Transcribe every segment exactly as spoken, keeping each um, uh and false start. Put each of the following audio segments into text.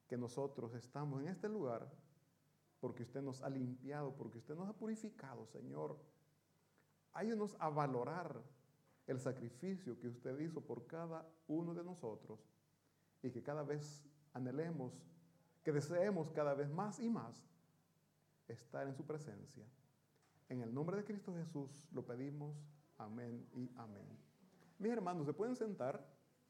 que nosotros estamos en este lugar porque usted nos ha limpiado, porque usted nos ha purificado, Señor. Ayúdanos a valorar el sacrificio que usted hizo por cada uno de nosotros y que cada vez anhelemos, que deseemos cada vez más y más estar en su presencia. En el nombre de Cristo Jesús lo pedimos. Amén y amén. Mis hermanos, ¿se pueden sentar?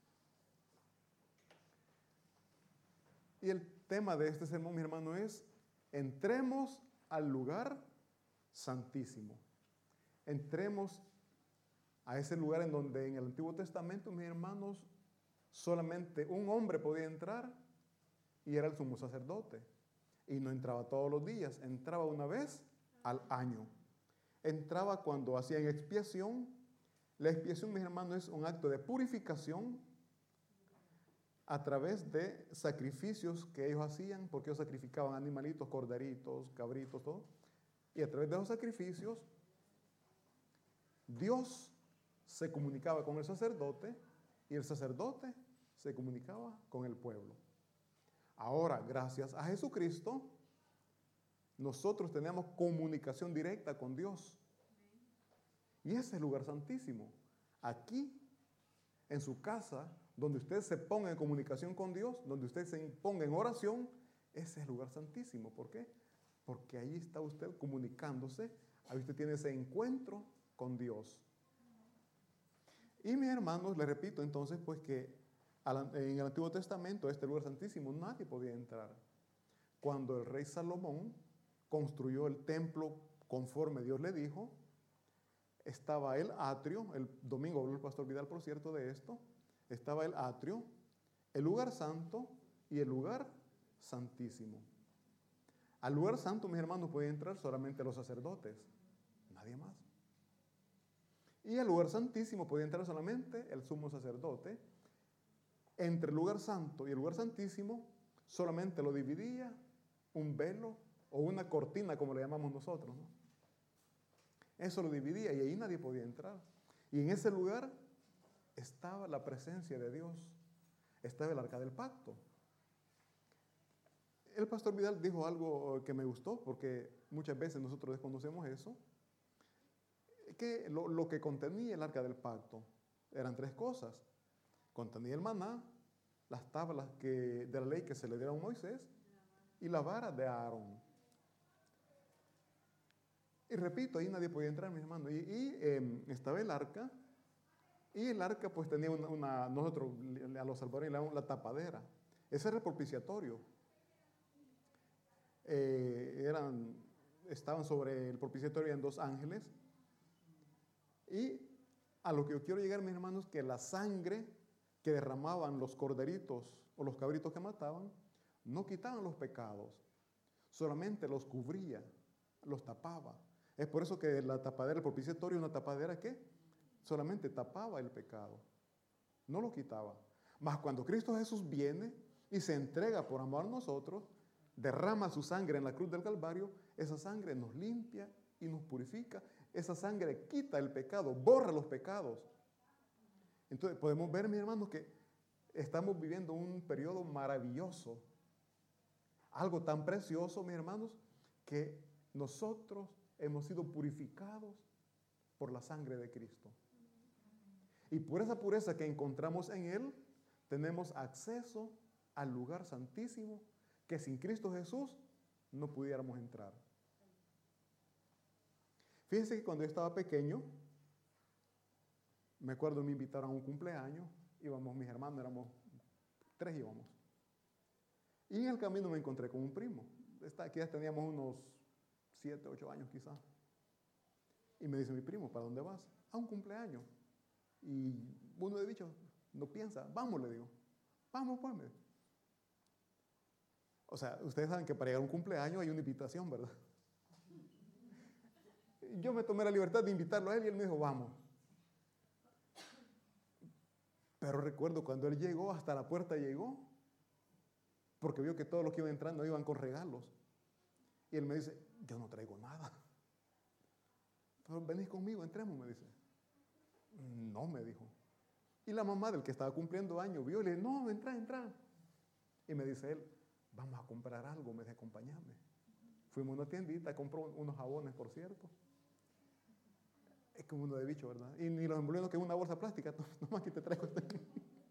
Y el tema de este sermón, mi hermano, es: entremos al lugar santísimo. Entremos a ese lugar en donde en el Antiguo Testamento, mis hermanos, solamente un hombre podía entrar y era el sumo sacerdote. Y no entraba todos los días, entraba una vez al año. Entraba cuando hacían expiación. La expiación, mis hermanos, es un acto de purificación a través de sacrificios que ellos hacían, porque ellos sacrificaban animalitos, corderitos, cabritos, todo. Y a través de esos sacrificios, Dios se comunicaba con el sacerdote y el sacerdote se comunicaba con el pueblo. Ahora, gracias a Jesucristo, nosotros tenemos comunicación directa con Dios. Y ese es el lugar santísimo. Aquí, en su casa, donde usted se ponga en comunicación con Dios, donde usted se ponga en oración, ese es el lugar santísimo. ¿Por qué? Porque ahí está usted comunicándose, ahí usted tiene ese encuentro con Dios. Y mis hermanos, les repito entonces, pues que en el Antiguo Testamento, este lugar santísimo, nadie podía entrar. Cuando el rey Salomón construyó el templo conforme Dios le dijo, estaba el atrio, el domingo habló el pastor Vidal, por cierto, de esto, estaba el atrio, el lugar santo y el lugar santísimo. Al lugar santo, mis hermanos, pueden entrar solamente los sacerdotes, nadie más. Y al lugar santísimo podía entrar solamente el sumo sacerdote. Entre el lugar santo y el lugar santísimo solamente lo dividía un velo o una cortina, como le llamamos nosotros, ¿no? Eso lo dividía y ahí nadie podía entrar. Y en ese lugar estaba la presencia de Dios, estaba el arca del pacto. El pastor Vidal dijo algo que me gustó, porque muchas veces nosotros desconocemos eso, que lo, lo que contenía el arca del pacto eran tres cosas. Contenía el maná, las tablas que, de la ley que se le dieron a Moisés y la vara de Aarón. Y repito, ahí nadie podía entrar, mis hermanos. Y, y eh, estaba el arca, y el arca pues tenía una, una nosotros a los salvadoreños le llamamos la tapadera. Ese era el propiciatorio. Eh, eran, estaban sobre el propiciatorio en dos ángeles. Y a lo que yo quiero llegar, mis hermanos, que la sangre que derramaban los corderitos o los cabritos que mataban, no quitaban los pecados, solamente los cubría, los tapaba. Es por eso que la tapadera, el propiciatorio, una tapadera que solamente tapaba el pecado, no lo quitaba. Mas cuando Cristo Jesús viene y se entrega por amor a nosotros, derrama su sangre en la cruz del Calvario, esa sangre nos limpia y nos purifica. Esa sangre quita el pecado, borra los pecados. Entonces podemos ver, mis hermanos, que estamos viviendo un periodo maravilloso, algo tan precioso, mis hermanos, que nosotros hemos sido purificados por la sangre de Cristo. Y por esa pureza que encontramos en Él, tenemos acceso al lugar santísimo que sin Cristo Jesús no pudiéramos entrar. Fíjense que cuando yo estaba pequeño, me acuerdo me invitaron a un cumpleaños, íbamos mis hermanos, éramos tres íbamos. Y en el camino me encontré con un primo. Aquí ya teníamos unos siete, ocho años quizás. Y me dice mi primo, ¿para dónde vas? A un cumpleaños. Y uno de dicho, no piensa, vamos, le digo. Vamos, pues. O sea, ustedes saben que para llegar a un cumpleaños hay una invitación, ¿verdad? Yo me tomé la libertad de invitarlo a él y él me dijo, vamos. Pero recuerdo cuando él llegó, hasta la puerta llegó, porque vio que todos los que iban entrando iban con regalos. Y él me dice, yo no traigo nada. Pero venís conmigo, entremos, me dice. No, me dijo. Y la mamá del que estaba cumpliendo años vio y le dijo, no, entra, entra. Y me dice él, vamos a comprar algo, me dice, acompáñame. Fuimos a una tiendita, compró unos jabones, por cierto. Es como uno de bicho, ¿verdad? Y ni los envolviendo que en una bolsa plástica, nomás que te traigo este.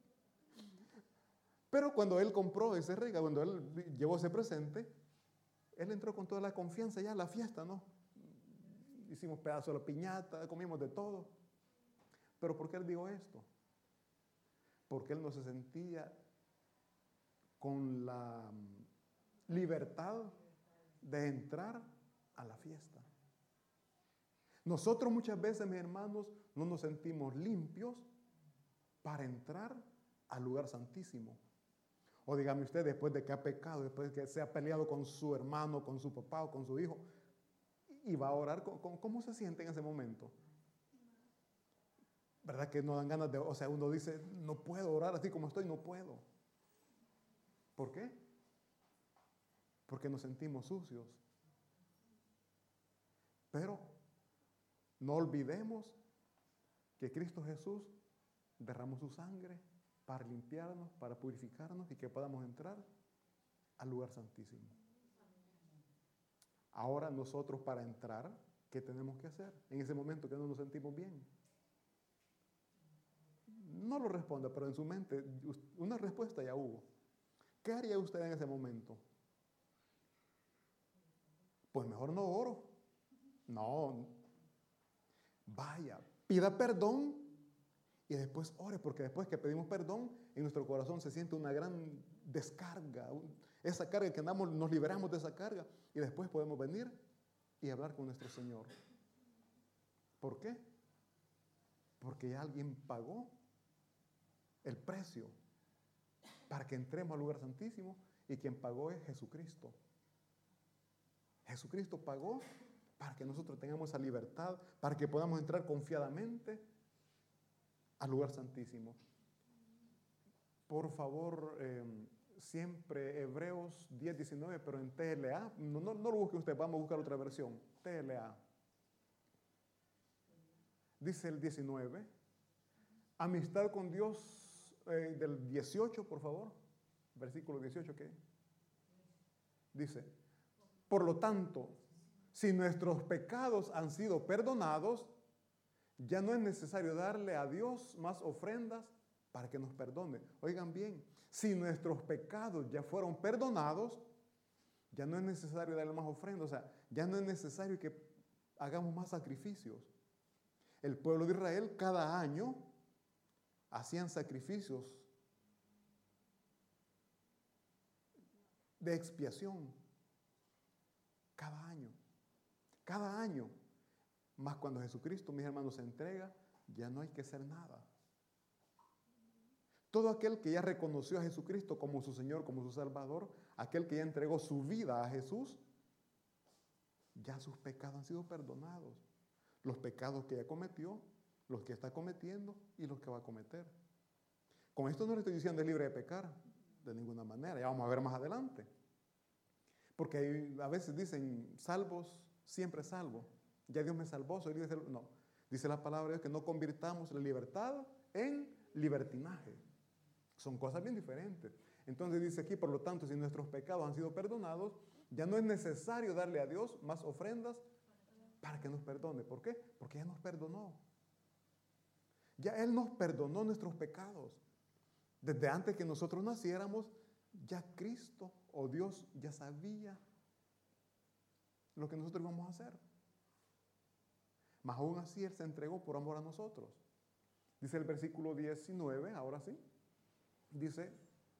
Pero cuando él compró ese regalo, cuando él llevó ese presente, él entró con toda la confianza ya a la fiesta, ¿no? Hicimos pedazos de la piñata, comimos de todo. Pero ¿por qué él dijo esto? Porque él no se sentía con la libertad de entrar a la fiesta. Nosotros muchas veces, mis hermanos, no nos sentimos limpios para entrar al lugar santísimo. O dígame usted, después de que ha pecado, después de que se ha peleado con su hermano, con su papá o con su hijo, y va a orar, ¿cómo se siente en ese momento? ¿Verdad que no dan ganas de, o sea, uno dice, no puedo orar así como estoy, no puedo? ¿Por qué? Porque nos sentimos sucios. Pero no olvidemos que Cristo Jesús derramó su sangre para limpiarnos, para purificarnos y que podamos entrar al lugar santísimo. Ahora nosotros para entrar, ¿qué tenemos que hacer? En ese momento que no nos sentimos bien. No lo responda, pero en su mente una respuesta ya hubo. ¿Qué haría usted en ese momento? Pues mejor no oro. No. Vaya, pida perdón y después ore, porque después que pedimos perdón, en nuestro corazón se siente una gran descarga. Esa carga que andamos, nos liberamos de esa carga y después podemos venir y hablar con nuestro Señor. ¿Por qué? Porque ya alguien pagó el precio para que entremos al lugar santísimo y quien pagó es Jesucristo. Jesucristo pagó para que nosotros tengamos esa libertad, para que podamos entrar confiadamente al lugar santísimo. Por favor, eh, siempre Hebreos diez, diecinueve, pero en T L A, no, no, no lo busque usted, vamos a buscar otra versión, T L A. Dice el diecinueve, amistad con Dios, eh, del dieciocho, por favor, versículo dieciocho, ¿qué? Dice, por lo tanto, si nuestros pecados han sido perdonados, ya no es necesario darle a Dios más ofrendas para que nos perdone. Oigan bien, si nuestros pecados ya fueron perdonados, ya no es necesario darle más ofrendas, o sea, ya no es necesario que hagamos más sacrificios. El pueblo de Israel cada año hacían sacrificios de expiación. Cada año. Cada año. Más cuando Jesucristo, mis hermanos, se entrega, ya no hay que hacer nada. Todo aquel que ya reconoció a Jesucristo como su Señor, como su Salvador, aquel que ya entregó su vida a Jesús, ya sus pecados han sido perdonados. Los pecados que ya cometió, los que está cometiendo y los que va a cometer. Con esto no le estoy diciendo es libre de pecar, de ninguna manera, ya vamos a ver más adelante. Porque hay, a veces dicen, salvos, siempre salvo. Ya Dios me salvó, soy libre de ser... No, dice la palabra de Dios que no convirtamos la libertad en libertinaje. Son cosas bien diferentes. Entonces dice aquí, por lo tanto, si nuestros pecados han sido perdonados, ya no es necesario darle a Dios más ofrendas para que nos perdone. ¿Por qué? Porque ya nos perdonó. Ya Él nos perdonó nuestros pecados. Desde antes que nosotros naciéramos, ya Cristo o Dios ya sabía lo que nosotros íbamos a hacer. Mas aún así Él se entregó por amor a nosotros. Dice el versículo diecinueve, ahora sí, dice,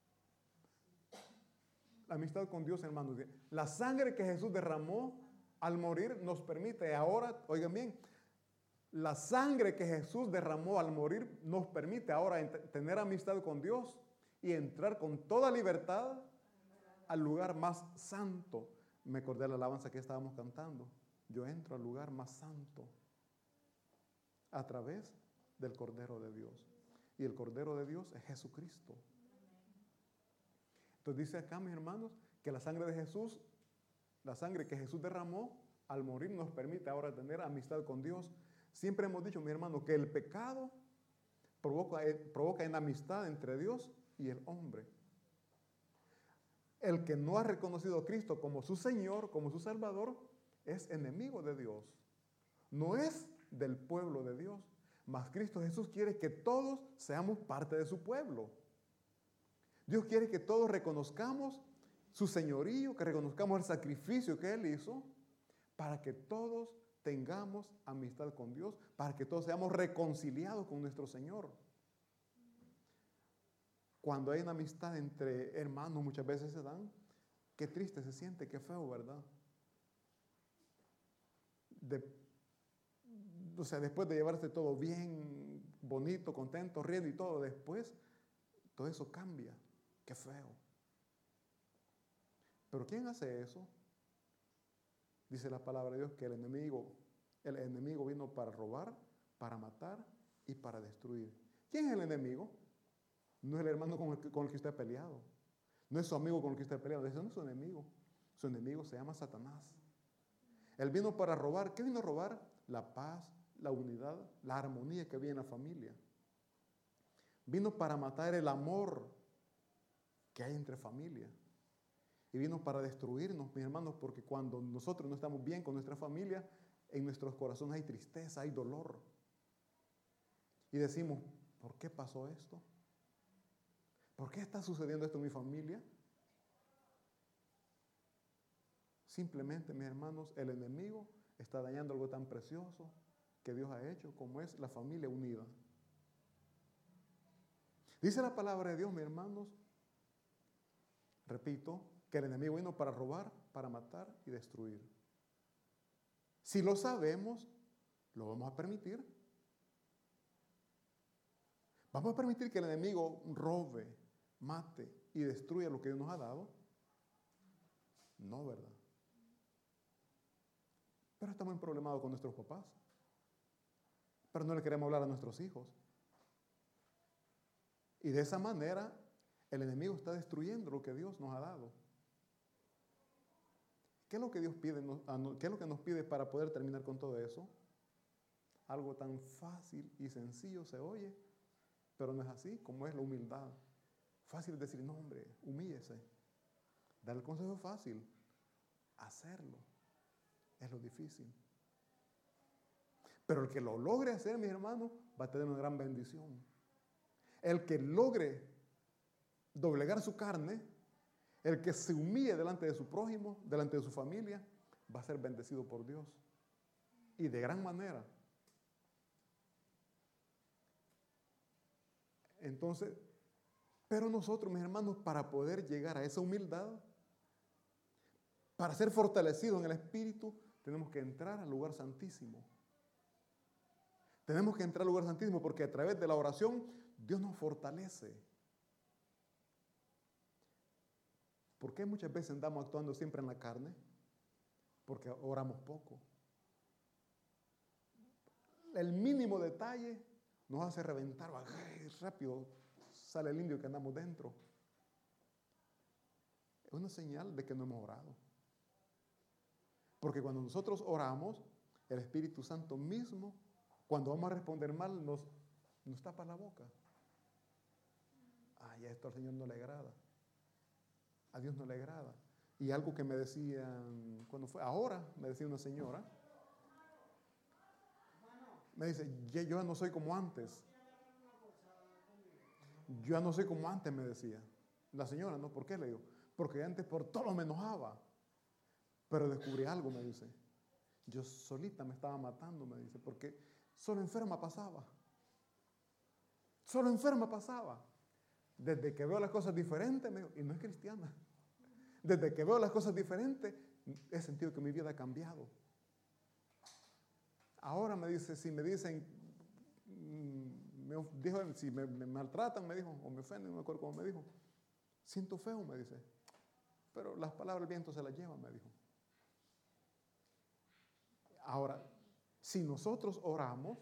la amistad con Dios, hermanos, la sangre que Jesús derramó al morir nos permite ahora, oigan bien, la sangre que Jesús derramó al morir nos permite ahora tener amistad con Dios y entrar con toda libertad al lugar más santo. Me acordé de la alabanza que estábamos cantando. Yo entro al lugar más santo a través del Cordero de Dios. Y el Cordero de Dios es Jesucristo. Entonces dice acá, mis hermanos, que la sangre de Jesús, la sangre que Jesús derramó al morir nos permite ahora tener amistad con Dios. Siempre hemos dicho, mis hermanos, que el pecado provoca, provoca enemistad entre Dios y el hombre. El que no ha reconocido a Cristo como su Señor, como su Salvador, es enemigo de Dios. No es del pueblo de Dios, mas Cristo Jesús quiere que todos seamos parte de su pueblo. Dios quiere que todos reconozcamos su señorío, que reconozcamos el sacrificio que Él hizo, para que todos tengamos amistad con Dios, para que todos seamos reconciliados con nuestro Señor. Cuando hay una amistad entre hermanos, muchas veces se dan, qué triste se siente, qué feo, ¿verdad? De, o sea, después de llevarse todo bien, bonito, contento, riendo y todo, después todo eso cambia, qué feo. Pero ¿quién hace eso? Dice la palabra de Dios que el enemigo, el enemigo vino para robar, para matar y para destruir. ¿Quién es el enemigo? No es el hermano con el, que, con el que usted ha peleado. No es su amigo con el que usted ha peleado. Ese no es su enemigo. Su enemigo se llama Satanás. Él vino para robar. ¿Qué vino a robar? La paz, la unidad, la armonía que había en la familia. Vino para matar el amor que hay entre familia. Y vino para destruirnos, mis hermanos, porque cuando nosotros no estamos bien con nuestra familia, en nuestros corazones hay tristeza, hay dolor. Y decimos, ¿por qué pasó esto? ¿Por qué está sucediendo esto en mi familia? Simplemente, mis hermanos, el enemigo está dañando algo tan precioso que Dios ha hecho, como es la familia unida. Dice la palabra de Dios, mis hermanos, repito, que el enemigo vino para robar, para matar y destruir. Si lo sabemos, lo vamos a permitir. ¿Vamos a permitir que el enemigo robe, mate y destruya lo que Dios nos ha dado? No, ¿verdad? Pero estamos en problemados con nuestros papás. Pero no le queremos hablar a nuestros hijos. Y de esa manera, el enemigo está destruyendo lo que Dios nos ha dado. ¿Qué es lo que Dios pide? ¿Qué es lo que nos pide para poder terminar con todo eso? Algo tan fácil y sencillo se oye, pero no es así, como es la humildad. Fácil decir, no, hombre, humíllese. Dar el consejo es fácil. Hacerlo es lo difícil. Pero el que lo logre hacer, mis hermanos, va a tener una gran bendición. El que logre doblegar su carne, el que se humille delante de su prójimo, delante de su familia, va a ser bendecido por Dios. Y de gran manera. Entonces, pero nosotros, mis hermanos, para poder llegar a esa humildad, para ser fortalecidos en el Espíritu, tenemos que entrar al lugar santísimo. Tenemos que entrar al lugar santísimo porque a través de la oración, Dios nos fortalece. ¿Por qué muchas veces andamos actuando siempre en la carne? Porque oramos poco. El mínimo detalle nos hace reventar, ¡ay! Rápido sale el indio que andamos dentro. Es una señal de que no hemos orado. Porque cuando nosotros oramos, el Espíritu Santo mismo, cuando vamos a responder mal, nos, nos tapa la boca. Ay, esto al Señor no le agrada. A Dios no le agrada. Y algo que me decían, cuando fue, ahora me decía una señora, me dice, yo ya no soy como antes. Yo ya no soy como antes, me decía. La señora, ¿no? ¿Por qué? Le digo, porque antes por todo me enojaba. Pero descubrí algo, me dice. Yo solita me estaba matando, me dice, porque solo enferma pasaba. Solo enferma pasaba. Desde que veo las cosas diferentes, me dijo, y no es cristiana. Desde que veo las cosas diferentes, he sentido que mi vida ha cambiado. Ahora me dice, si me dicen, me dijo, si me, me maltratan, me dijo, o me ofenden, no me acuerdo cómo me dijo. Siento feo, me dice. Pero las palabras del viento se las llevan, me dijo. Ahora, si nosotros oramos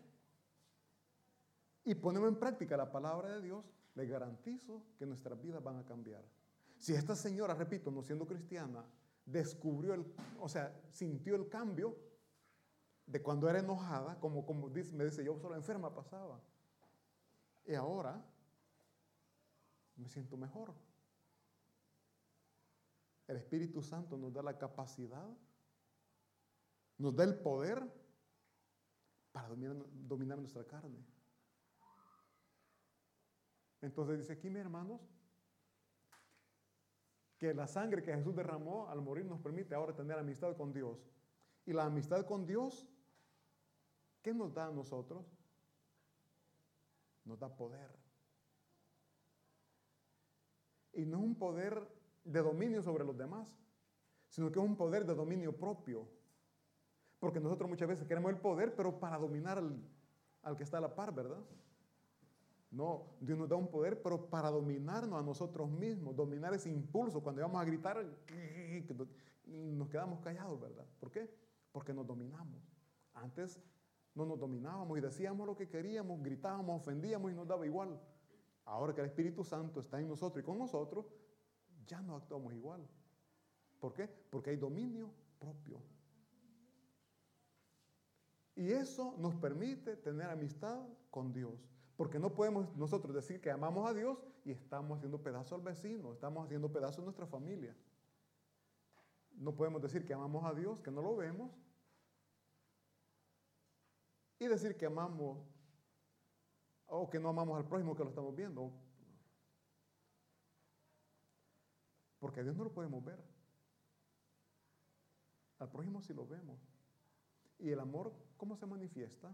y ponemos en práctica la palabra de Dios, les garantizo que nuestras vidas van a cambiar. Si esta señora, repito, no siendo cristiana, descubrió, el, o sea, sintió el cambio de cuando era enojada, como, como dice, me dice, yo solo enferma pasaba. Y ahora me siento mejor. El Espíritu Santo nos da la capacidad, nos da el poder para dominar, dominar nuestra carne. Entonces dice aquí, mis hermanos, que la sangre que Jesús derramó al morir nos permite ahora tener amistad con Dios. Y la amistad con Dios, ¿qué nos da a nosotros? Nos da poder. Y no es un poder de dominio sobre los demás, sino que es un poder de dominio propio. Porque nosotros muchas veces queremos el poder, pero para dominar al, al que está a la par, ¿verdad? No, Dios nos da un poder, pero para dominarnos a nosotros mismos, dominar ese impulso. Cuando vamos a gritar, nos quedamos callados, ¿verdad? ¿Por qué? Porque nos dominamos. Antes no nos dominábamos y decíamos lo que queríamos, gritábamos, ofendíamos y nos daba igual. Ahora que el Espíritu Santo está en nosotros y con nosotros, ya no actuamos igual. ¿Por qué? Porque hay dominio propio. Y eso nos permite tener amistad con Dios. Porque no podemos nosotros decir que amamos a Dios y estamos haciendo pedazo al vecino, estamos haciendo pedazo a nuestra familia. No podemos decir que amamos a Dios, que no lo vemos, y decir que amamos, o que no amamos al prójimo, que lo estamos viendo. Porque a Dios no lo podemos ver. Al prójimo sí lo vemos. ¿Y el amor cómo se manifiesta?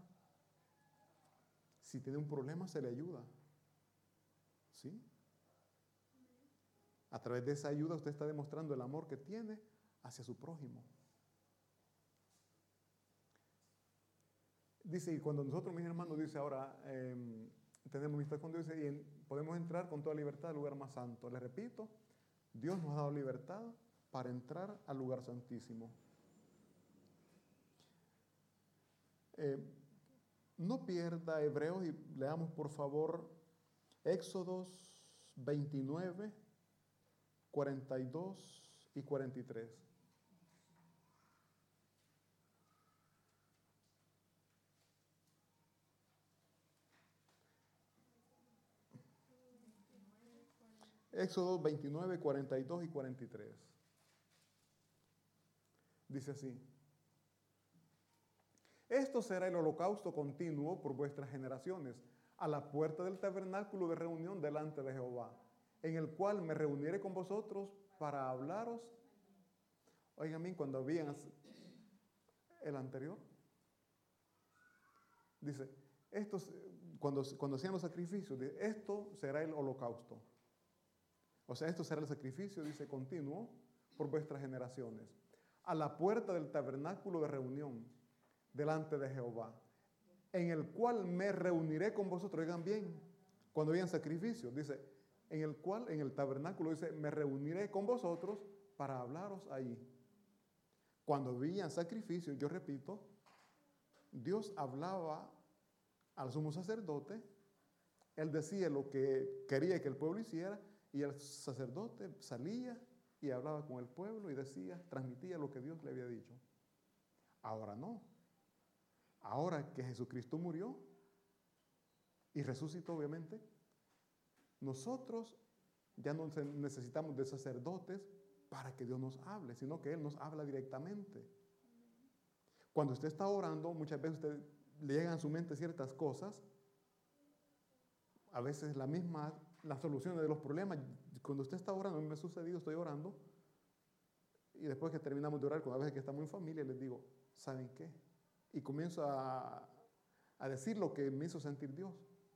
Si tiene un problema, se le ayuda. ¿Sí? A través de esa ayuda usted está demostrando el amor que tiene hacia su prójimo. Dice, y cuando nosotros, mis hermanos, dice ahora, eh, tenemos amistad con Dios y en, podemos entrar con toda libertad al lugar más santo. Les repito, Dios nos ha dado libertad para entrar al lugar santísimo. Eh, no pierda Hebreos y leamos por favor Éxodos veintinueve, cuarenta y dos y cuarenta y tres. Éxodo veintinueve, cuarenta y dos y cuarenta y tres. Dice así: esto será el holocausto continuo por vuestras generaciones, a la puerta del tabernáculo de reunión delante de Jehová, en el cual me reuniré con vosotros para hablaros. Oigan bien, cuando habían el anterior, dice, estos, cuando, cuando hacían los sacrificios, dice, esto será el holocausto. O sea, esto será el sacrificio, dice, continuo por vuestras generaciones, a la puerta del tabernáculo de reunión delante de Jehová, en el cual me reuniré con vosotros. Oigan bien, cuando habían sacrificios, dice, en el cual, en el tabernáculo, dice, me reuniré con vosotros para hablaros ahí. Cuando habían sacrificios, yo repito, Dios hablaba al sumo sacerdote, él decía lo que quería que el pueblo hiciera, y el sacerdote salía y hablaba con el pueblo y decía, transmitía lo que Dios le había dicho. Ahora no. Ahora que Jesucristo murió y resucitó, obviamente, nosotros ya no necesitamos de sacerdotes para que Dios nos hable, sino que Él nos habla directamente. Cuando usted está orando, muchas veces usted le llegan a su mente ciertas cosas, a veces la misma, las soluciones de los problemas. Cuando usted está orando, a mí me ha sucedido, estoy orando, y después que terminamos de orar, a veces que estamos en familia, les digo, ¿saben qué? Y comienzo a, a decir lo que me hizo sentir Dios.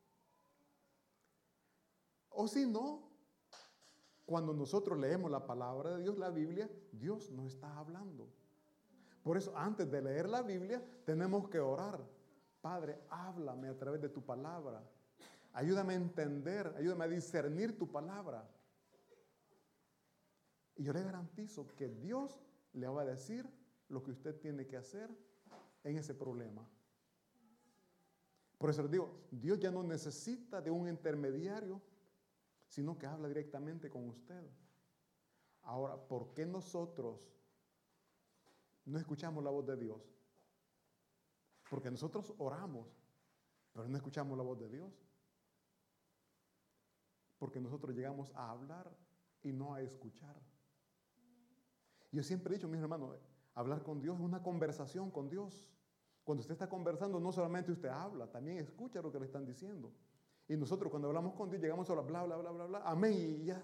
O si no, cuando nosotros leemos la palabra de Dios, la Biblia, Dios nos está hablando. Por eso, antes de leer la Biblia, tenemos que orar. Padre, háblame a través de tu palabra. Ayúdame a entender, ayúdame a discernir tu palabra. Y yo le garantizo que Dios le va a decir lo que usted tiene que hacer en ese problema. Por eso les digo, Dios ya no necesita de un intermediario, sino que habla directamente con usted. Ahora, ¿por qué nosotros no escuchamos la voz de Dios? Porque nosotros oramos, pero no escuchamos la voz de Dios. Porque nosotros llegamos a hablar y no a escuchar. Yo siempre he dicho, mis hermanos, hablar con Dios es una conversación con Dios. Cuando usted está conversando, no solamente usted habla, también escucha lo que le están diciendo. Y nosotros cuando hablamos con Dios, llegamos a hablar bla, bla, bla, bla, bla, amén y ya.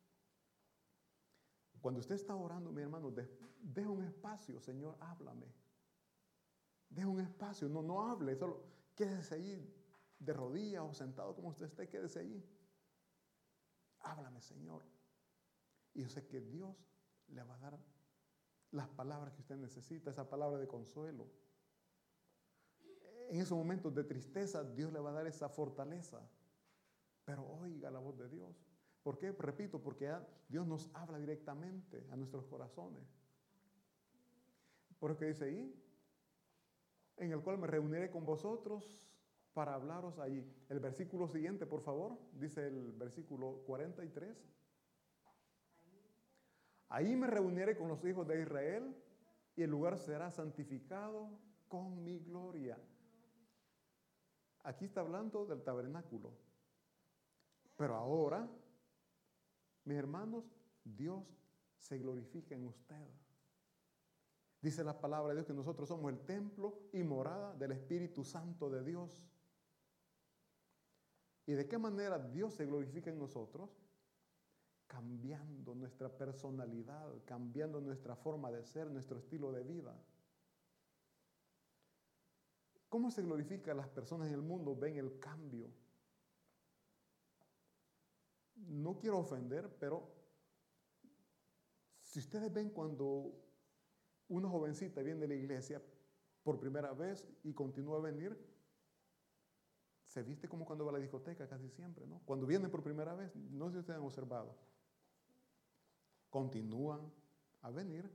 Cuando usted está orando, mi hermano, deja un espacio, Señor, háblame. Deja un espacio, no, no hable, solo quédese ahí de rodillas o sentado como usted esté, quédese ahí. Háblame, Señor. Y yo sé que Dios le va a dar las palabras que usted necesita, esa palabra de consuelo. En esos momentos de tristeza, Dios le va a dar esa fortaleza. Pero oiga la voz de Dios. ¿Por qué? Repito, porque Dios nos habla directamente a nuestros corazones. Por eso que dice ahí, en el cual me reuniré con vosotros para hablaros allí. El versículo siguiente, por favor, dice el versículo cuarenta y tres. Ahí me reuniré con los hijos de Israel y el lugar será santificado con mi gloria. Aquí está hablando del tabernáculo. Pero ahora, mis hermanos, Dios se glorifica en usted. Dice la palabra de Dios que nosotros somos el templo y morada del Espíritu Santo de Dios. ¿Y de qué manera Dios se glorifica en nosotros? Cambiando nuestra personalidad, cambiando nuestra forma de ser, nuestro estilo de vida. ¿Cómo se glorifica? Las personas en el mundo ven el cambio. No quiero ofender, pero si ustedes ven cuando una jovencita viene de la iglesia por primera vez y continúa a venir, se viste como cuando va a la discoteca casi siempre, ¿no? Cuando vienen por primera vez, no sé si ustedes han observado, continúan a venir,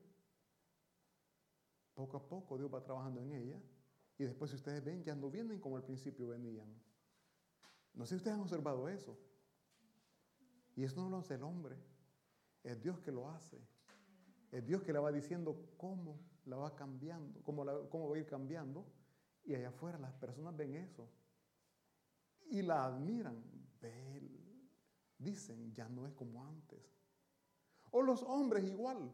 poco a poco Dios va trabajando en ella, y después si ustedes ven, ya no vienen como al principio venían. No sé si ustedes han observado eso. Y eso no lo hace el hombre, es Dios que lo hace. Es Dios que la va diciendo cómo la va cambiando, cómo, la, cómo va a ir cambiando. Y allá afuera las personas ven eso. Y la admiran. Ven, dicen, ya no es como antes. O los hombres igual.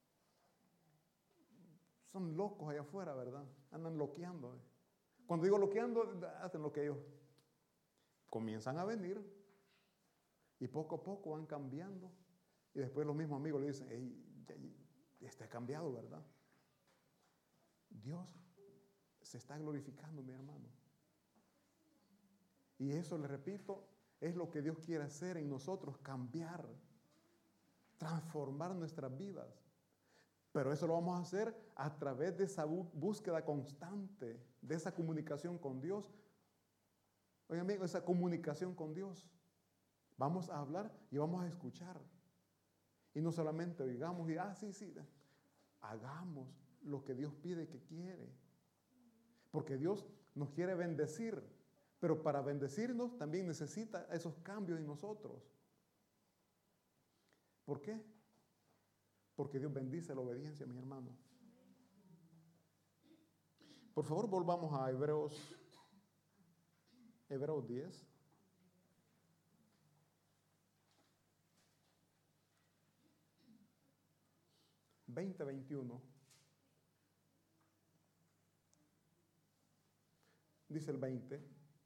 Son locos allá afuera, ¿verdad? Andan loqueando. Cuando digo loqueando, hacen lo que ellos. Comienzan a venir. Y poco a poco van cambiando. Y después los mismos amigos le dicen, hey, ya, ya está cambiado, ¿verdad? Dios se está glorificando, mi hermano. Y eso, le repito, es lo que Dios quiere hacer en nosotros, cambiar, transformar nuestras vidas. Pero eso lo vamos a hacer a través de esa búsqueda constante, de esa comunicación con Dios. Oye, amigo, esa comunicación con Dios. Vamos a hablar y vamos a escuchar. Y no solamente oigamos y, ah, sí, sí, hagamos lo que Dios pide que quiere. Porque Dios nos quiere bendecir, pero para bendecirnos también necesita esos cambios en nosotros. ¿Por qué? Porque Dios bendice la obediencia, mis hermanos. Por favor, volvamos a Hebreos, Hebreos diez. veinte, veintiuno. Dice el veinte.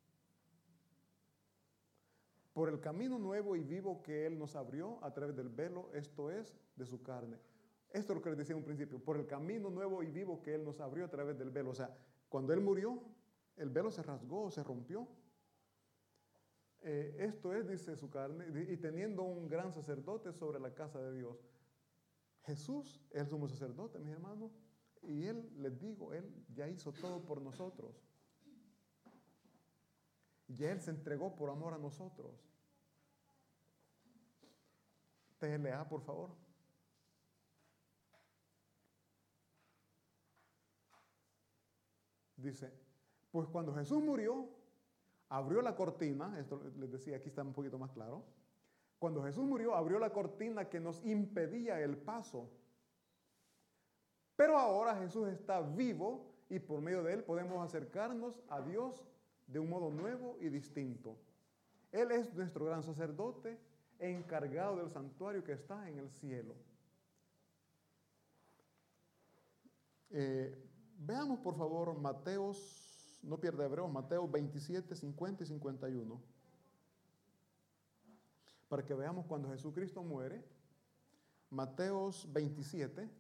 Por el camino nuevo y vivo que Él nos abrió a través del velo, esto es, de su carne. Esto es lo que les decía en un principio. Por el camino nuevo y vivo que Él nos abrió a través del velo. O sea, cuando Él murió, el velo se rasgó, se rompió. Eh, esto es, dice su carne, y teniendo un gran sacerdote sobre la casa de Dios. Jesús es el sumo sacerdote, mis hermanos, y Él, les digo, Él ya hizo todo por nosotros. Ya Él se entregó por amor a nosotros. T L A, por favor. Dice, pues cuando Jesús murió, abrió la cortina, esto les decía, aquí está un poquito más claro. Cuando Jesús murió, abrió la cortina que nos impedía el paso. Pero ahora Jesús está vivo y por medio de Él podemos acercarnos a Dios de un modo nuevo y distinto. Él es nuestro gran sacerdote encargado del santuario que está en el cielo. Eh, veamos por favor Mateos, no pierda Hebreos, Mateo veintisiete, cincuenta y cincuenta y uno. Para que veamos cuando Jesucristo muere. Mateos veintisiete.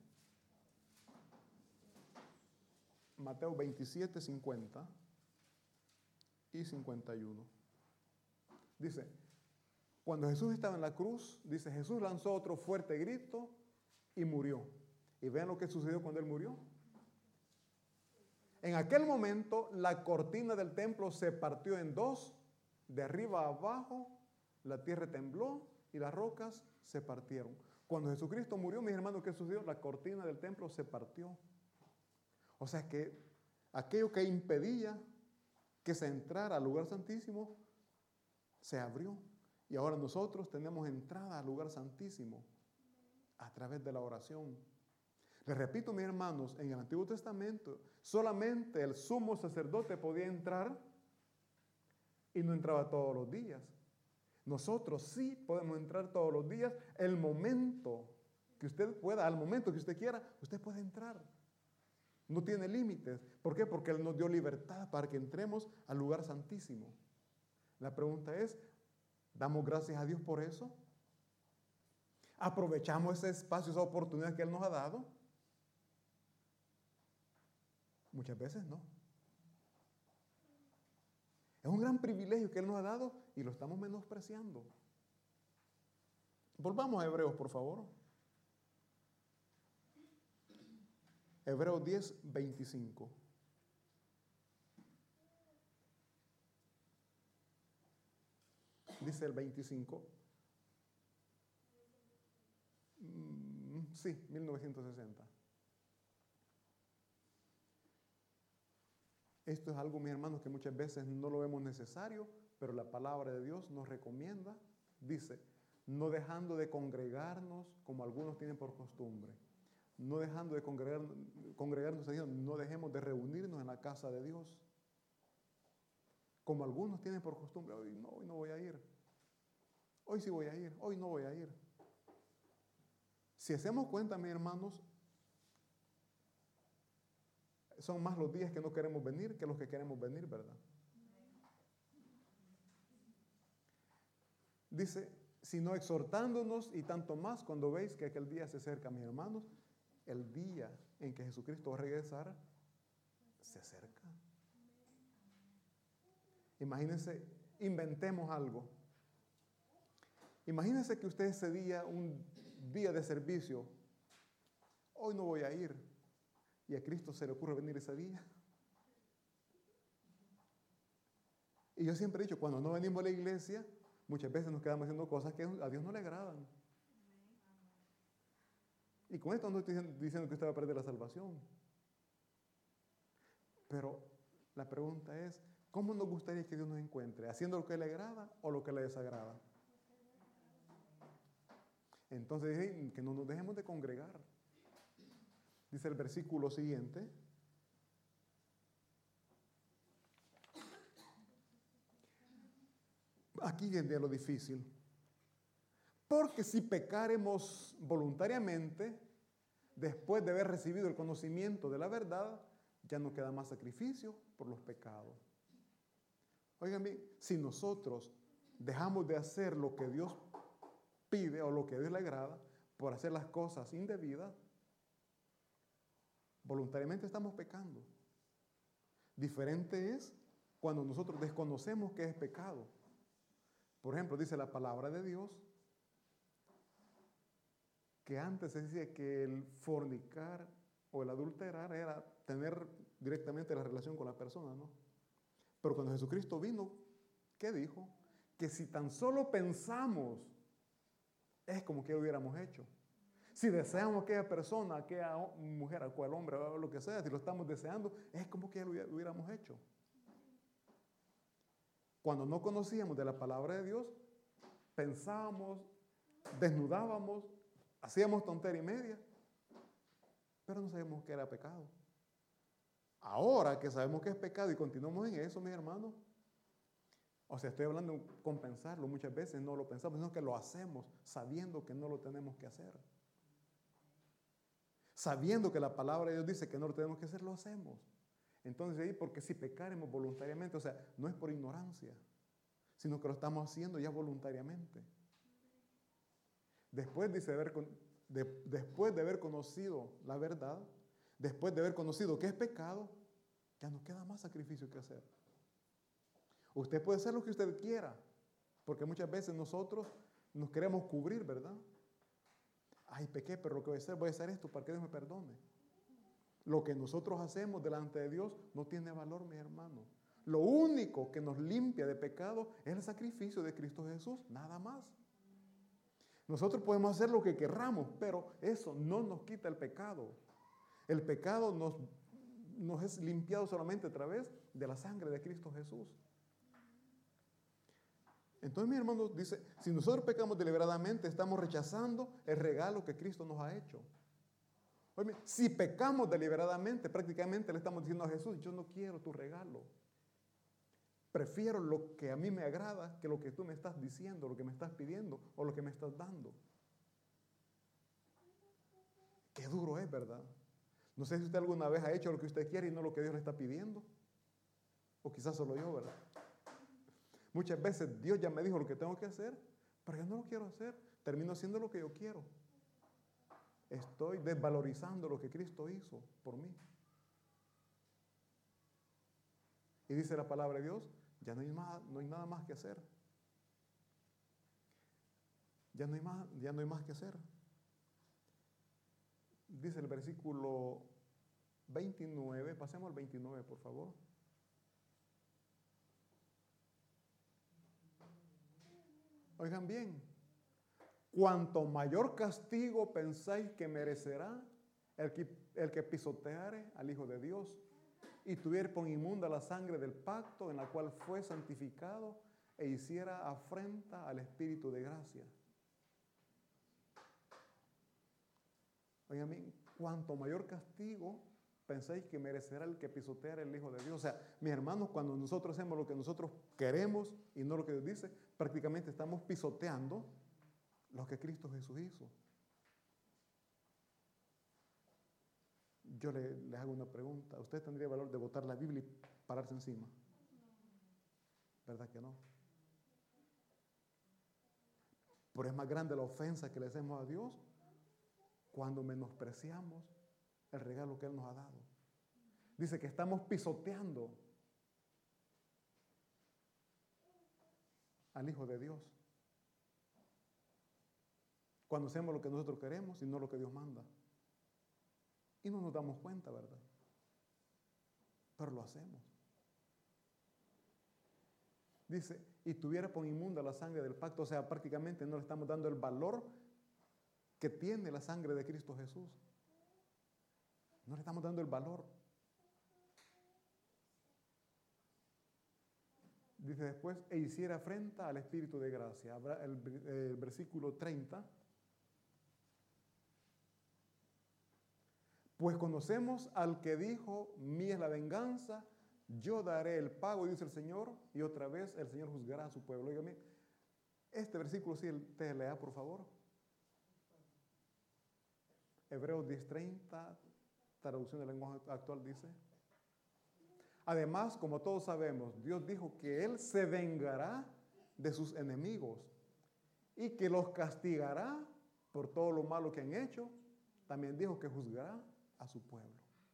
Mateo veintisiete, cincuenta y cincuenta y uno. Dice, cuando Jesús estaba en la cruz, dice, Jesús lanzó otro fuerte grito y murió. Y vean lo que sucedió cuando él murió. En aquel momento, la cortina del templo se partió en dos, de arriba a abajo, la tierra tembló y las rocas se partieron. Cuando Jesucristo murió, mis hermanos, ¿qué sucedió? La cortina del templo se partió. O sea que aquello que impedía que se entrara al lugar santísimo, se abrió. Y ahora nosotros tenemos entrada al lugar santísimo a través de la oración. Les repito, mis hermanos, en el Antiguo Testamento solamente el sumo sacerdote podía entrar y no entraba todos los días. Nosotros sí podemos entrar todos los días. El momento que usted pueda, al momento que usted quiera, usted puede entrar. No tiene límites. ¿Por qué? Porque Él nos dio libertad para que entremos al lugar santísimo. La pregunta es, ¿damos gracias a Dios por eso? ¿Aprovechamos ese espacio, esa oportunidad que Él nos ha dado? Muchas veces no. Es un gran privilegio que Él nos ha dado y lo estamos menospreciando. Volvamos a Hebreos, por favor. Hebreos diez, veinticinco. Dice el veinticinco. Mm, sí, mil novecientos sesenta. Esto es algo, mis hermanos, que muchas veces no lo vemos necesario, pero la palabra de Dios nos recomienda. Dice, no dejando de congregarnos como algunos tienen por costumbre. No dejando de congregar, congregarnos a Dios, no dejemos de reunirnos en la casa de Dios. Como algunos tienen por costumbre, hoy no, hoy no voy a ir. Hoy sí voy a ir, hoy no voy a ir. Si hacemos cuenta, mis hermanos, son más los días que no queremos venir que los que queremos venir, ¿verdad? Dice, sino exhortándonos y tanto más cuando veis que aquel día se acerca, mis hermanos, el día en que Jesucristo va a regresar, se acerca. Imagínense, inventemos algo. Imagínense que usted ese día, un día de servicio, hoy no voy a ir, y a Cristo se le ocurre venir ese día. Y yo siempre he dicho, cuando no venimos a la iglesia, muchas veces nos quedamos haciendo cosas que a Dios no le agradan. Y con esto no estoy diciendo que usted va a perder la salvación. Pero la pregunta es, ¿cómo nos gustaría que Dios nos encuentre? ¿Haciendo lo que le agrada o lo que le desagrada? Entonces, que no nos dejemos de congregar. Dice el versículo siguiente. Aquí viene lo difícil. Porque si pecaremos voluntariamente, después de haber recibido el conocimiento de la verdad, ya no queda más sacrificio por los pecados. Oigan bien, si nosotros dejamos de hacer lo que Dios pide o lo que a Dios le agrada, por hacer las cosas indebidas, voluntariamente estamos pecando. Diferente es cuando nosotros desconocemos qué es pecado. Por ejemplo, dice la palabra de Dios que antes se decía que el fornicar o el adulterar era tener directamente la relación con la persona, ¿no? Pero cuando Jesucristo vino, ¿qué dijo? Que si tan solo pensamos, es como que lo hubiéramos hecho. Si deseamos a aquella persona, a aquella mujer, a aquel hombre, o lo que sea, si lo estamos deseando, es como que lo hubiéramos hecho. Cuando no conocíamos de la palabra de Dios, pensábamos, desnudábamos, hacíamos tontería y media, pero no sabíamos que era pecado. Ahora que sabemos que es pecado y continuamos en eso, mis hermanos, o sea, estoy hablando de compensarlo, muchas veces no lo pensamos, sino que lo hacemos sabiendo que no lo tenemos que hacer. Sabiendo que la palabra de Dios dice que no lo tenemos que hacer, lo hacemos. Entonces ahí, porque si pecaremos voluntariamente, o sea, no es por ignorancia, sino que lo estamos haciendo ya voluntariamente. Después, dice, de haber, de, después de haber conocido la verdad, después de haber conocido que es pecado, ya no queda más sacrificio que hacer. Usted puede hacer lo que usted quiera, porque muchas veces nosotros nos queremos cubrir, ¿verdad? Ay, pequé, pero lo que voy a hacer, voy a hacer esto para que Dios me perdone. Lo que nosotros hacemos delante de Dios no tiene valor, mis hermanos. Lo único que nos limpia de pecado es el sacrificio de Cristo Jesús, nada más. Nosotros podemos hacer lo que querramos, pero eso no nos quita el pecado. El pecado nos, nos es limpiado solamente a través de la sangre de Cristo Jesús. Entonces, mis hermanos, dice, si nosotros pecamos deliberadamente, estamos rechazando el regalo que Cristo nos ha hecho. Oye, si pecamos deliberadamente, prácticamente le estamos diciendo a Jesús, yo no quiero tu regalo. Prefiero lo que a mí me agrada que lo que tú me estás diciendo, lo que me estás pidiendo o lo que me estás dando. Qué duro es, ¿verdad? No sé si usted alguna vez ha hecho lo que usted quiere y no lo que Dios le está pidiendo. O quizás solo yo, ¿verdad? Muchas veces Dios ya me dijo lo que tengo que hacer, pero yo no lo quiero hacer. Termino haciendo lo que yo quiero. Estoy desvalorizando lo que Cristo hizo por mí. Y dice la palabra de Dios, ya no hay, más, no hay nada más que hacer. Ya no hay más, ya no hay más que hacer. Dice el versículo veintinueve, pasemos al veintinueve, por favor. Oigan bien, cuanto mayor castigo pensáis que merecerá el que, el que pisoteare al Hijo de Dios y tuviera por inmunda la sangre del pacto en la cual fue santificado e hiciera afrenta al Espíritu de gracia. Oigan bien, cuanto mayor castigo pensáis que merecerá el que pisoteara el Hijo de Dios. O sea, mis hermanos, cuando nosotros hacemos lo que nosotros queremos y no lo que Dios dice, prácticamente estamos pisoteando lo que Cristo Jesús hizo. Yo le, les hago una pregunta. ¿Usted tendría el valor de botar la Biblia y pararse encima? ¿Verdad que no? Pero es más grande la ofensa que le hacemos a Dios cuando menospreciamos el regalo que Él nos ha dado. Dice que estamos pisoteando al Hijo de Dios cuando hacemos lo que nosotros queremos y no lo que Dios manda. Y no nos damos cuenta, ¿verdad? Pero lo hacemos. Dice, y tuviera por inmunda la sangre del pacto, o sea, prácticamente no le estamos dando el valor que tiene la sangre de Cristo Jesús. No le estamos dando el valor. Dice después, e hiciera afrenta al Espíritu de gracia. Habrá el, el versículo treinta. Pues conocemos al que dijo, mía es la venganza, yo daré el pago, dice el Señor, y otra vez el Señor juzgará a su pueblo. Óigame, este versículo sí, usted lea, por favor. Hebreos diez treinta, traducción del lenguaje actual, dice. Además, como todos sabemos, Dios dijo que Él se vengará de sus enemigos y que los castigará por todo lo malo que han hecho. También dijo que juzgará a su pueblo.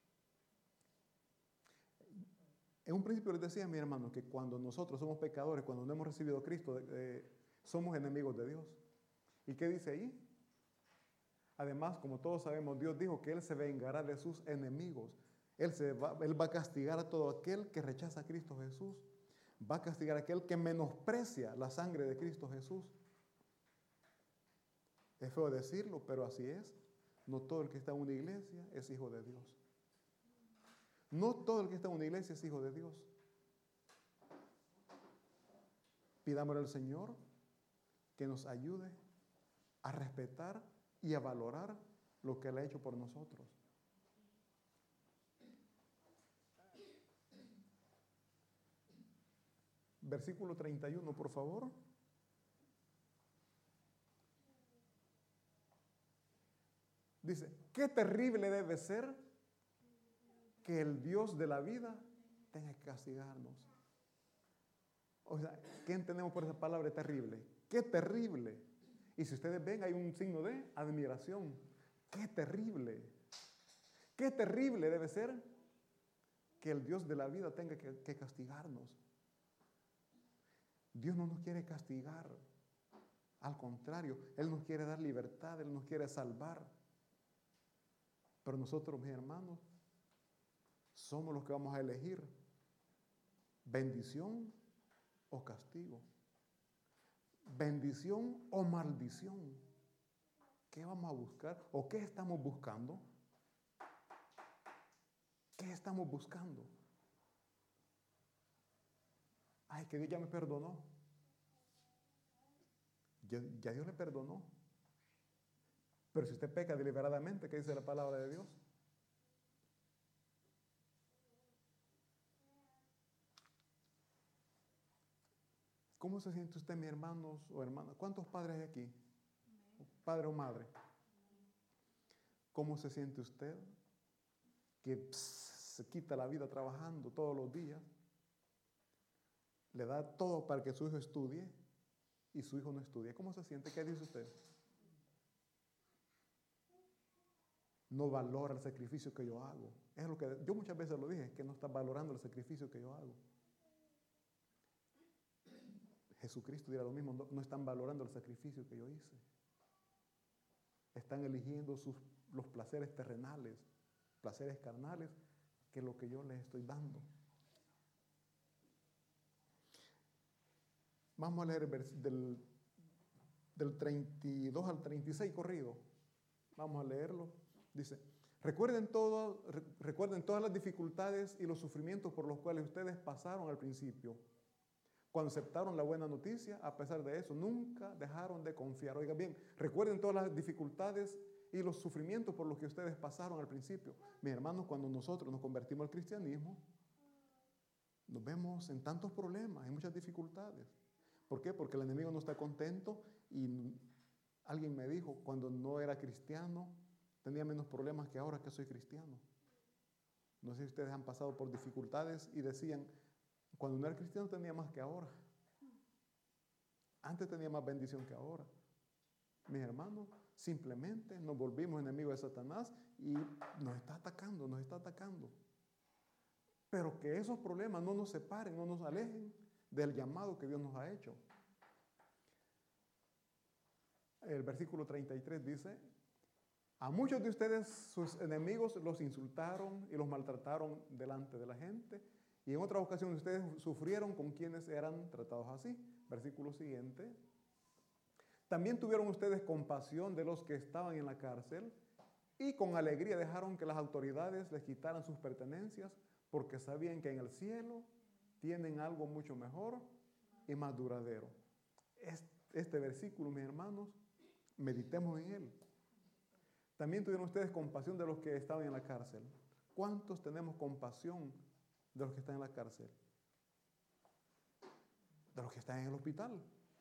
En un principio les decía a mi hermano que cuando nosotros somos pecadores, cuando no hemos recibido a Cristo, eh, somos enemigos de Dios. ¿Y qué dice ahí? Además, como todos sabemos, Dios dijo que Él se vengará de sus enemigos. Él, se va, él va a castigar a todo aquel que rechaza a Cristo Jesús. Va a castigar a aquel que menosprecia la sangre de Cristo Jesús. Es feo decirlo, pero así es. No todo el que está en una iglesia es hijo de Dios. No todo el que está en una iglesia es hijo de Dios. Pidámosle al Señor que nos ayude a respetar y a valorar lo que Él ha hecho por nosotros. Versículo treinta y uno, por favor. Dice, qué terrible debe ser que el Dios de la vida tenga que castigarnos. O sea, ¿qué entendemos por esa palabra terrible? ¡Qué terrible! Y si ustedes ven, hay un signo de admiración. ¡Qué terrible! ¡Qué terrible debe ser que el Dios de la vida tenga que, que castigarnos! Dios no nos quiere castigar. Al contrario, Él nos quiere dar libertad, Él nos quiere salvar. Pero nosotros, mis hermanos, somos los que vamos a elegir bendición o castigo, bendición o maldición. ¿Qué vamos a buscar o qué estamos buscando? ¿Qué estamos buscando? Ay, que Dios ya me perdonó. Ya, ya Dios le perdonó. Pero si usted peca deliberadamente, ¿qué dice la palabra de Dios? ¿Cómo se siente usted, mis hermanos o hermanas? ¿Cuántos padres hay aquí? Padre o madre. ¿Cómo se siente usted que pss, se quita la vida trabajando todos los días? Le da todo para que su hijo estudie y su hijo no estudie. ¿Cómo se siente? ¿Qué dice usted? No valora el sacrificio que yo hago. Es lo que yo muchas veces lo dije, que no está valorando el sacrificio que yo hago. Jesucristo dirá lo mismo, no, no están valorando el sacrificio que yo hice. Están eligiendo sus, los placeres terrenales, placeres carnales, que es lo que yo les estoy dando. Vamos a leer del, del treinta y dos al treinta y seis corrido. Vamos a leerlo. Dice, recuerden, todo, recuerden todas las dificultades y los sufrimientos por los cuales ustedes pasaron al principio. Cuando aceptaron la buena noticia, a pesar de eso, nunca dejaron de confiar. Oigan bien, recuerden todas las dificultades y los sufrimientos por los que ustedes pasaron al principio. Mis hermanos, cuando nosotros nos convertimos al cristianismo, nos vemos en tantos problemas, en muchas dificultades. ¿Por qué? Porque el enemigo no está contento y alguien me dijo, cuando no era cristiano, tenía menos problemas que ahora que soy cristiano. No sé si ustedes han pasado por dificultades y decían, cuando no era cristiano tenía más que ahora. Antes tenía más bendición que ahora. Mis hermanos, simplemente nos volvimos enemigos de Satanás y nos está atacando, nos está atacando. Pero que esos problemas no nos separen, no nos alejen del llamado que Dios nos ha hecho. El versículo treinta y tres dice, a muchos de ustedes sus enemigos los insultaron y los maltrataron delante de la gente. Y en otras ocasiones ustedes sufrieron con quienes eran tratados así. Versículo siguiente. También tuvieron ustedes compasión de los que estaban en la cárcel y con alegría dejaron que las autoridades les quitaran sus pertenencias porque sabían que en el cielo tienen algo mucho mejor y más duradero. Este versículo, mis hermanos, meditemos en él. También tuvieron ustedes compasión de los que estaban en la cárcel. ¿Cuántos tenemos compasión de los que están en la cárcel? De los que están en el hospital.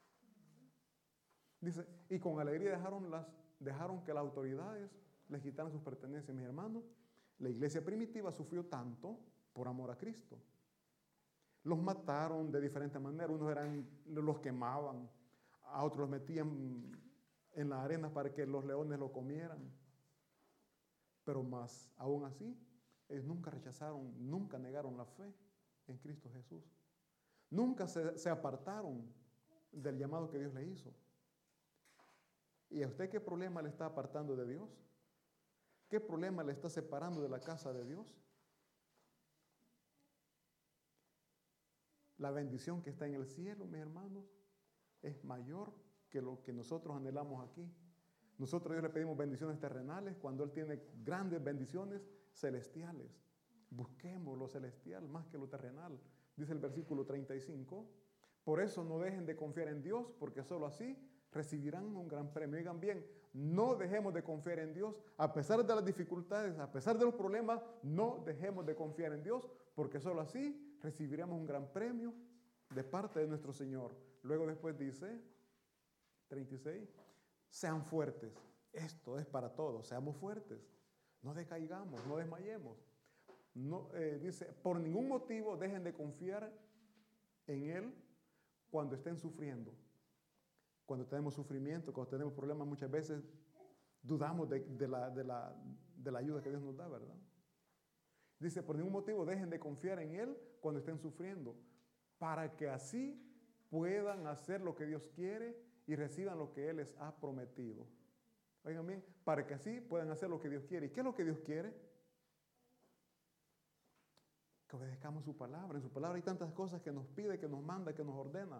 Dice, y con alegría dejaron, las, dejaron que las autoridades les quitaran sus pertenencias. Mis hermanos, la iglesia primitiva sufrió tanto por amor a Cristo. Los mataron de diferentes maneras. Unos eran, los quemaban, a otros los metían en la arena para que los leones lo comieran. Pero más, aún así, ellos nunca rechazaron, nunca negaron la fe en Cristo Jesús. Nunca se, se apartaron del llamado que Dios le hizo. ¿Y a usted qué problema le está apartando de Dios? ¿Qué problema le está separando de la casa de Dios? La bendición que está en el cielo, mis hermanos, es mayor que lo que nosotros anhelamos aquí. Nosotros a Dios le pedimos bendiciones terrenales cuando Él tiene grandes bendiciones celestiales. Busquemos lo celestial más que lo terrenal. Dice el versículo treinta y cinco. Por eso no dejen de confiar en Dios, porque solo así recibirán un gran premio. Oigan bien, no dejemos de confiar en Dios. A pesar de las dificultades, a pesar de los problemas, no dejemos de confiar en Dios, porque solo así recibiremos un gran premio de parte de nuestro Señor. Luego después dice, treinta y seis, sean fuertes. Esto es para todos, seamos fuertes. No decaigamos, no desmayemos. No, eh, dice, por ningún motivo dejen de confiar en Él cuando estén sufriendo. Cuando tenemos sufrimiento, cuando tenemos problemas, muchas veces dudamos de, de, la, de, la, de la ayuda que Dios nos da, ¿verdad? Dice, por ningún motivo dejen de confiar en Él cuando estén sufriendo, para que así puedan hacer lo que Dios quiere y reciban lo que Él les ha prometido. Oigan bien, para que así puedan hacer lo que Dios quiere. ¿Y qué es lo que Dios quiere? Que obedezcamos su palabra. En su palabra hay tantas cosas que nos pide, que nos manda, que nos ordena.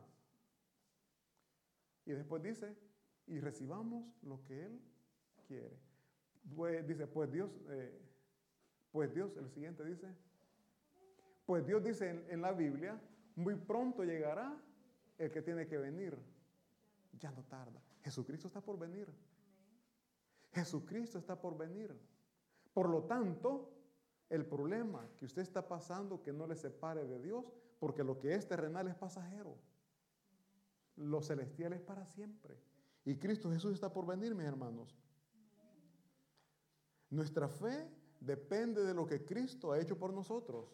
Y después dice, y recibamos lo que Él quiere. Pues, dice, pues Dios, eh, pues Dios, el siguiente dice, pues Dios dice en, en la Biblia, muy pronto llegará el que tiene que venir. Ya no tarda. Jesucristo está por venir. Jesucristo está por venir. Por lo tanto, el problema que usted está pasando, que no le separe de Dios, porque lo que es terrenal es pasajero. Lo celestial es para siempre. Y Cristo Jesús está por venir, mis hermanos. Nuestra fe depende de lo que Cristo ha hecho por nosotros.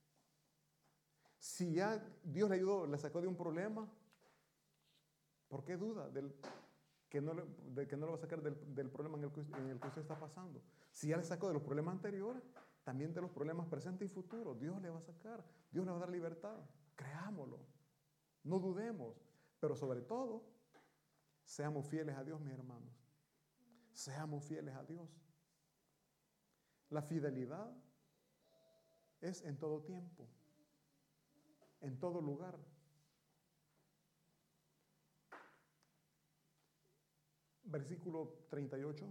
Si ya Dios le ayudó, le sacó de un problema, ¿por qué duda del, que, no le, de que no lo va a sacar del, del problema en el, que, en el que usted está pasando? Si ya le sacó de los problemas anteriores, también de los problemas presentes y futuros, Dios le va a sacar, Dios le va a dar libertad. Creámoslo, no dudemos, pero sobre todo, seamos fieles a Dios, mis hermanos. Seamos fieles a Dios. La fidelidad es en todo tiempo, en todo lugar. Versículo treinta y ocho.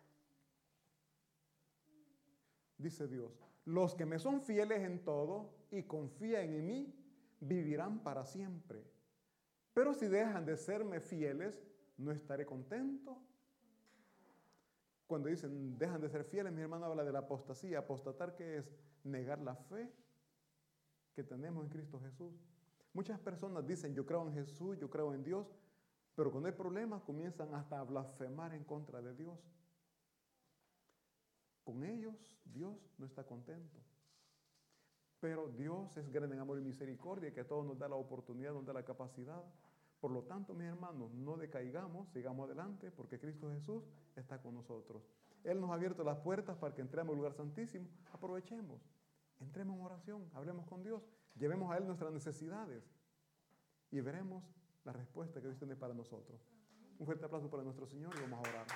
Dice Dios, los que me son fieles en todo y confían en mí, vivirán para siempre. Pero si dejan de serme fieles, no estaré contento. Cuando dicen dejan de ser fieles, mi hermano habla de la apostasía. Apostatar, que es negar la fe que tenemos en Cristo Jesús. Muchas personas dicen, yo creo en Jesús, yo creo en Dios, pero cuando hay problemas comienzan hasta a blasfemar en contra de Dios. Con ellos Dios no está contento. Pero Dios es grande en amor y misericordia, que a todos nos da la oportunidad, nos da la capacidad. Por lo tanto, mis hermanos, no decaigamos, sigamos adelante, porque Cristo Jesús está con nosotros. Él nos ha abierto las puertas para que entremos al lugar santísimo. Aprovechemos, entremos en oración, hablemos con Dios, llevemos a Él nuestras necesidades y veremos la respuesta que Dios tiene para nosotros. Un fuerte aplauso para nuestro Señor y vamos a orar.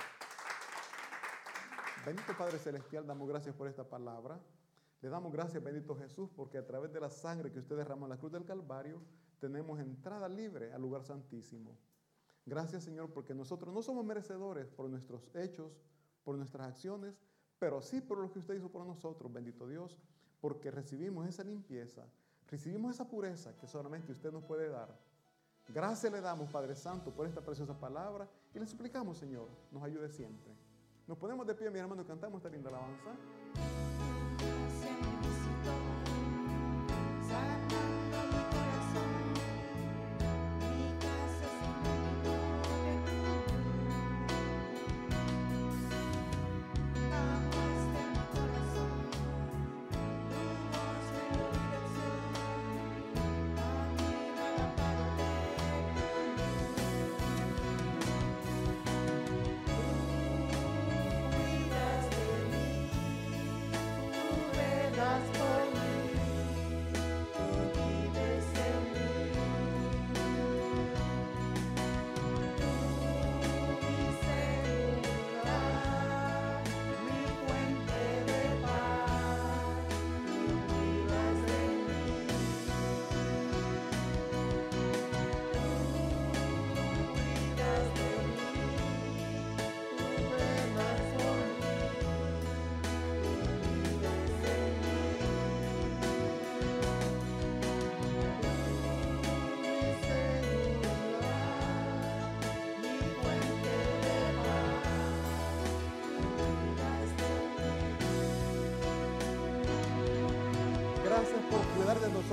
Bendito Padre Celestial, damos gracias por esta palabra. Le damos gracias, bendito Jesús, porque a través de la sangre que usted derramó en la cruz del Calvario, tenemos entrada libre al lugar santísimo. Gracias, Señor, porque nosotros no somos merecedores por nuestros hechos, por nuestras acciones, pero sí por lo que usted hizo por nosotros, bendito Dios, porque recibimos esa limpieza, recibimos esa pureza que solamente usted nos puede dar. Gracias le damos, Padre Santo, por esta preciosa palabra y le suplicamos, Señor, nos ayude siempre. Nos ponemos de pie, mi hermano, y cantamos esta linda alabanza. Gracias por cuidar de nosotros.